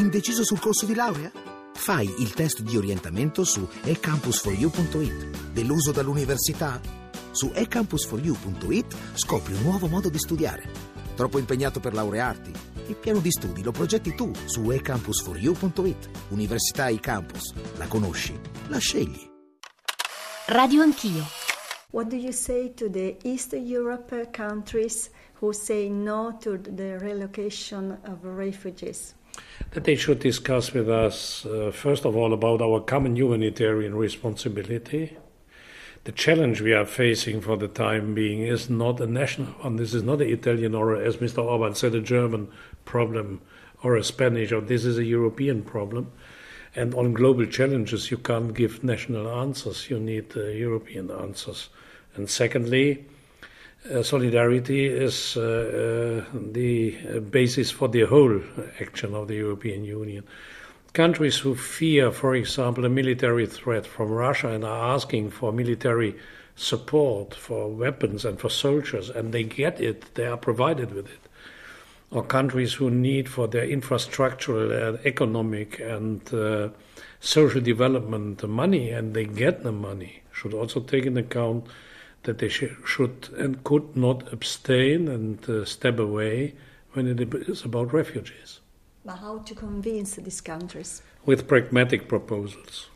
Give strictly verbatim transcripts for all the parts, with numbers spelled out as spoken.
Indeciso sul corso di laurea? Fai il test di orientamento su e campus for you punto it. Deluso dall'università? Su e campus for you punto it scopri un nuovo modo di studiare. Troppo impegnato per laurearti? Il piano di studi lo progetti tu su e campus for you punto it. Università eCampus. La conosci? La scegli. Radio Anch'io. What do you say to the East Europe countries who say no to the relocation of refugees? That they should discuss with us, uh, first of all, about our common humanitarian responsibility. The challenge we are facing for the time being is not a national one. This is not an Italian or, as Mister Orban said, a German problem or a Spanish, or this is a European problem. And on global challenges, you can't give national answers. You need uh, European answers. And secondly, uh, solidarity is uh, uh, the basis for the whole action of the European Union. Countries who fear, for example, a military threat from Russia and are asking for military support, for weapons and for soldiers, and they get it, they are provided with it. Or countries who need for their infrastructural and economic and uh, social development the money, and they get the money, should also take into account that they sh- should and could not abstain and uh, step away when it is about refugees. But how to convince these countries? With pragmatic proposals.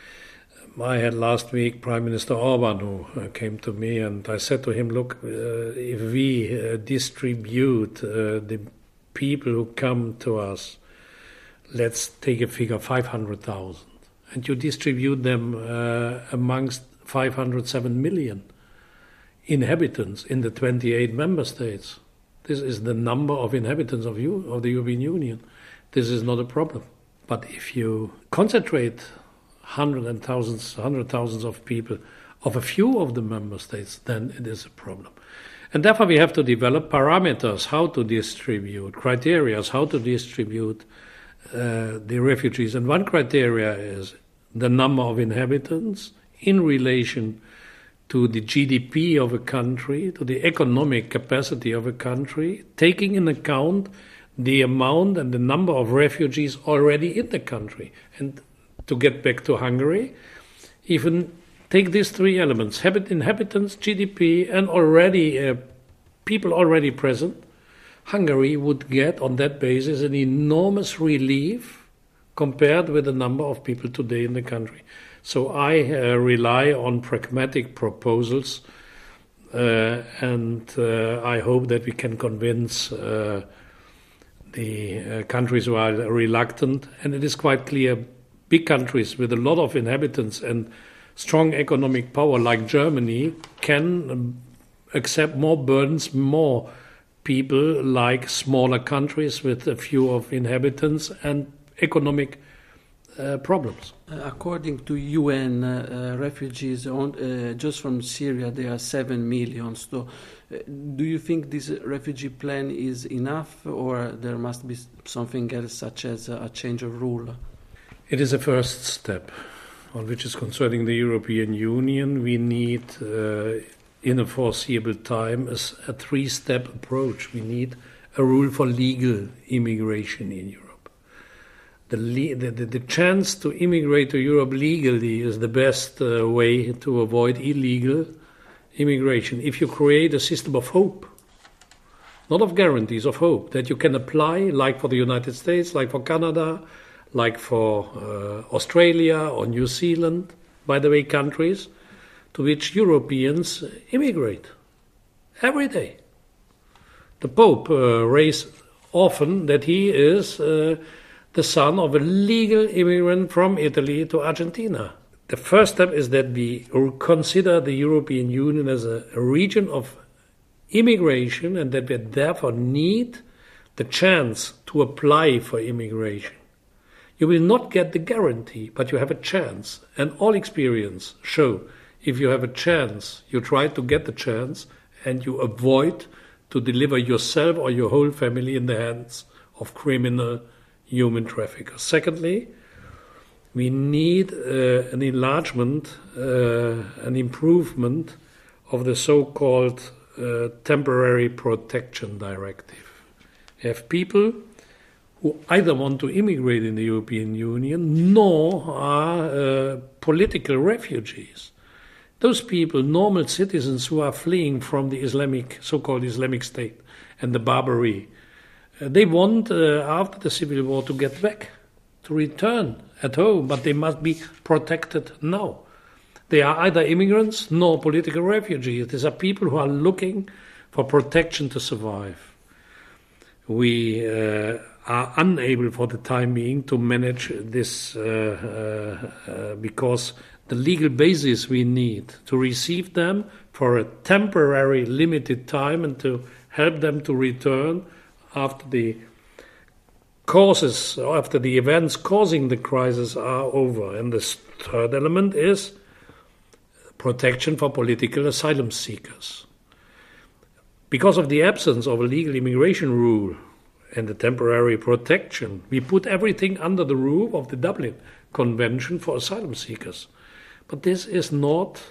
I had last week Prime Minister Orban who uh, came to me, and I said to him, look, uh, if we uh, distribute uh, the people who come to us, let's take a figure, five hundred thousand, and you distribute them uh, amongst five hundred seven million inhabitants in the twenty-eight member states. This is the number of inhabitants of, you, of the European Union. This is not a problem. But if you concentrate hundreds and thousands, hundred thousands of people of a few of the member states, then it is a problem. And therefore we have to develop parameters how to distribute, criteria how to distribute uh, the refugees. And one criteria is the number of inhabitants in relation to the G D P of a country, to the economic capacity of a country, taking in account the amount and the number of refugees already in the country. And to get back to Hungary, even take these three elements, habit, inhabitants, G D P, and already uh, people already present, Hungary would get on that basis an enormous relief compared with the number of people today in the country. So I uh, rely on pragmatic proposals, uh, and uh, I hope that we can convince uh, the uh, countries who are reluctant. And it is quite clear, big countries with a lot of inhabitants and strong economic power like Germany can um, accept more burdens, more people like smaller countries with a few of inhabitants and economic Uh, problems. Uh, according to U N, uh, uh, refugees on, uh, just from Syria, there are seven million. So, uh, do you think this refugee plan is enough, or there must be something else, such as a change of rule? It is a first step, on which is concerning the European Union. We need, uh, in a foreseeable time, a, a three-step approach. We need a rule for legal immigration in Europe. The, the, the chance to immigrate to Europe legally is the best uh, way to avoid illegal immigration. If you create a system of hope, not of guarantees, of hope, that you can apply, like for the United States, like for Canada, like for uh, Australia or New Zealand, by the way, countries to which Europeans immigrate every day. The Pope uh, raised often that he is Uh, the son of a legal immigrant from Italy to Argentina. The first step is that we consider the European Union as a, a region of immigration, and that we therefore need the chance to apply for immigration. You will not get the guarantee, but you have a chance. And all experience show if you have a chance, you try to get the chance, and you avoid to deliver yourself or your whole family in the hands of criminal human traffickers. Secondly, we need uh, an enlargement, uh, an improvement of the so-called uh, temporary protection directive. You have people who either want to immigrate in the European Union nor are uh, political refugees. Those people, normal citizens who are fleeing from the Islamic, so-called Islamic State and the Barbary, uh, they want, uh, after the civil war, to get back, to return at home, but they must be protected now. They are either immigrants nor political refugees. These are people who are looking for protection to survive. We uh, are unable for the time being to manage this uh, uh, uh, because the legal basis we need to receive them for a temporary limited time and to help them to return after the causes, after the events causing the crisis are over. And the third element is protection for political asylum seekers. Because of the absence of a legal immigration rule and the temporary protection, we put everything under the roof of the Dublin Convention for asylum seekers. But this is not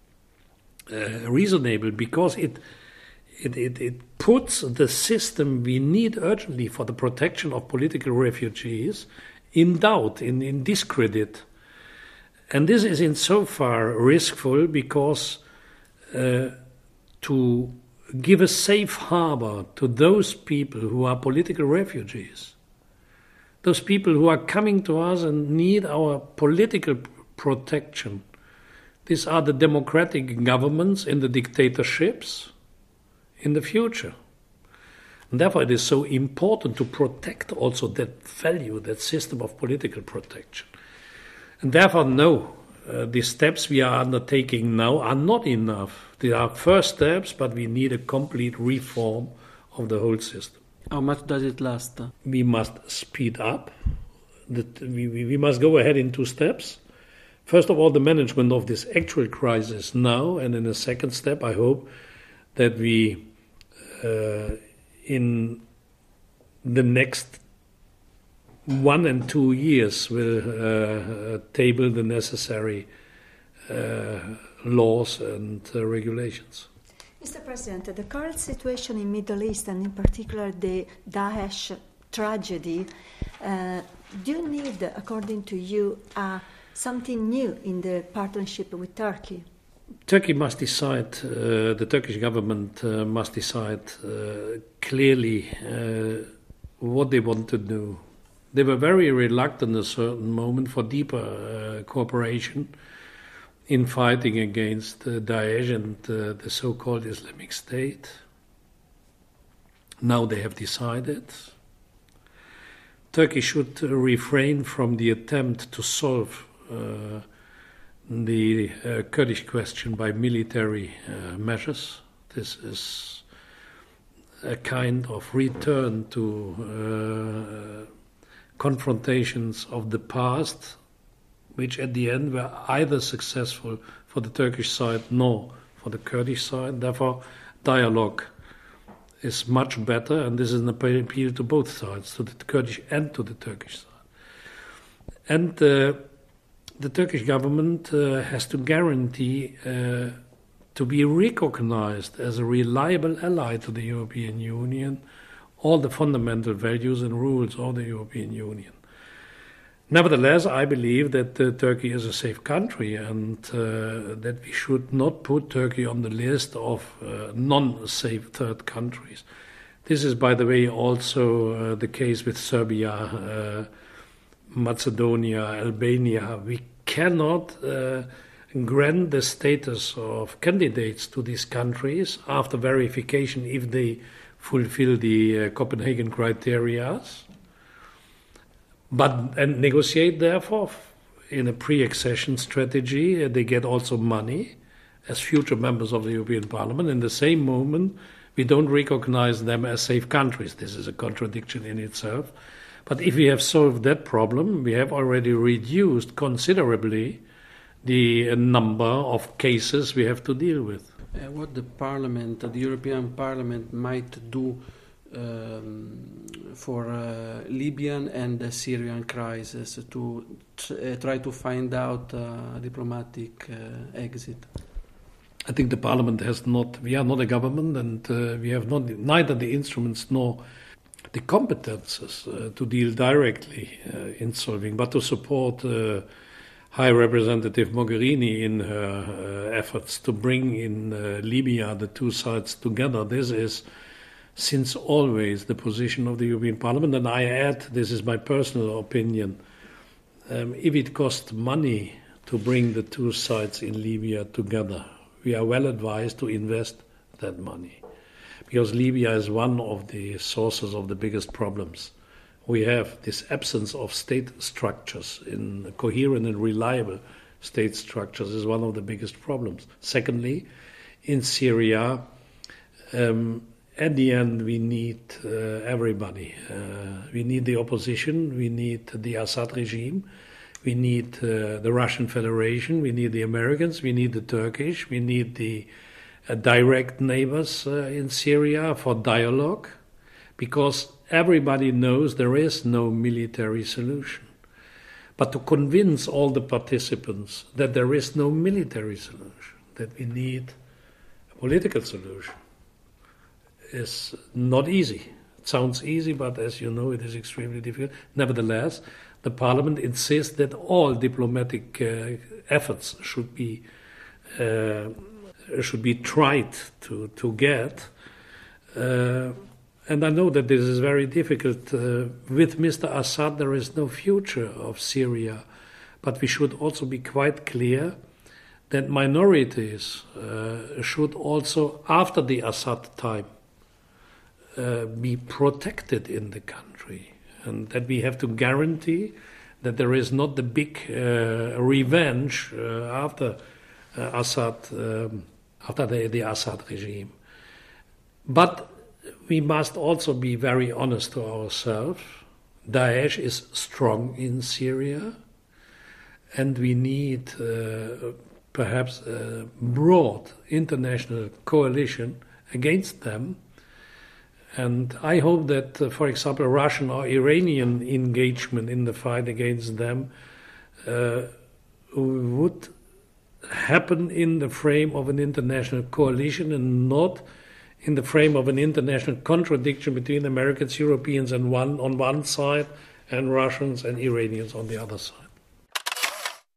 uh, reasonable because it, it, it, it puts the system we need urgently for the protection of political refugees in doubt, in, in discredit. And this is insofar riskful because uh, to give a safe harbor to those people who are political refugees, those people who are coming to us and need our political protection. These are the democratic governments in the dictatorships in the future. And therefore it is so important to protect also that value, that system of political protection. And therefore, no, uh, the steps we are undertaking now are not enough. They are first steps, but we need a complete reform of the whole system. How much does it last? We must speed up. That we, we, we must go ahead in two steps. First of all, the management of this actual crisis now, and in a second step, I hope that we, uh, in the next one and two years, will uh, table the necessary uh, laws and uh, regulations. Mister President, the current situation in Middle East, and in particular the Daesh tragedy, uh, do you need, according to you, uh, something new in the partnership with Turkey? Turkey must decide, uh, the Turkish government uh, must decide uh, clearly uh, what they want to do. They were very reluctant at a certain moment for deeper uh, cooperation in fighting against uh, Daesh and uh, the so-called Islamic State. Now they have decided. Turkey should uh, refrain from the attempt to solve uh, the uh, Kurdish question by military uh, measures. This is a kind of return to uh, confrontations of the past, which at the end were either successful for the Turkish side nor for the Kurdish side. Therefore, dialogue is much better, and this is an appeal to both sides, to the Kurdish and to the Turkish side. And uh, the Turkish government uh, has to guarantee uh, to be recognized as a reliable ally to the European Union, all the fundamental values and rules of the European Union. Nevertheless, I believe that uh, Turkey is a safe country and uh, that we should not put Turkey on the list of uh, non-safe third countries. This is, by the way, also uh, the case with Serbia, uh, Macedonia, Albania. We cannot uh, grant the status of candidates to these countries after verification if they fulfill the uh, Copenhagen criteria, but and negotiate therefore in a pre-accession strategy. Uh, they get also money as future members of the European Parliament. In the same moment, we don't recognize them as safe countries. This is a contradiction in itself. But if we have solved that problem, we have already reduced considerably the uh, number of cases we have to deal with. Uh, what the Parliament, uh, the European Parliament, might do um, for uh, Libyan and the Syrian crisis to tr- uh, try to find out a diplomatic uh, exit? I think the Parliament has not. We are not a government, and uh, we have not neither the instruments nor the competences uh, to deal directly uh, in solving, but to support uh, High Representative Mogherini in her uh, efforts to bring in uh, Libya the two sides together. This is since always the position of the European Parliament, and I add, this is my personal opinion, um, if it costs money to bring the two sides in Libya together, we are well advised to invest that money, because Libya is one of the sources of the biggest problems. We have this absence of state structures, in coherent and reliable state structures is one of the biggest problems. Secondly, in Syria, um, at the end, we need uh, everybody. Uh, we need the opposition, we need the Assad regime, we need uh, the Russian Federation, we need the Americans, we need the Turkish, we need the uh, direct neighbors uh, in Syria for dialogue, because everybody knows there is no military solution. But to convince all the participants that there is no military solution, that we need a political solution, is not easy. It sounds easy, but as you know, it is extremely difficult. Nevertheless, the Parliament insists that all diplomatic uh, efforts should be uh, should be tried to to get. Uh, and I know that this is very difficult. Uh, with Mister Assad, there is no future of Syria, but we should also be quite clear that minorities uh, should also, after the Assad time, Uh, be protected in the country, and that we have to guarantee that there is not the big uh, revenge uh, after uh, Assad, um, after the, the Assad regime. But we must also be very honest to ourselves. Daesh is strong in Syria, and we need uh, perhaps a broad international coalition against them. And I hope that, uh, for example, Russian or Iranian engagement in the fight against them uh, would happen in the frame of an international coalition and not in the frame of an international contradiction between Americans, Europeans and one, on one side and Russians and Iranians on the other side.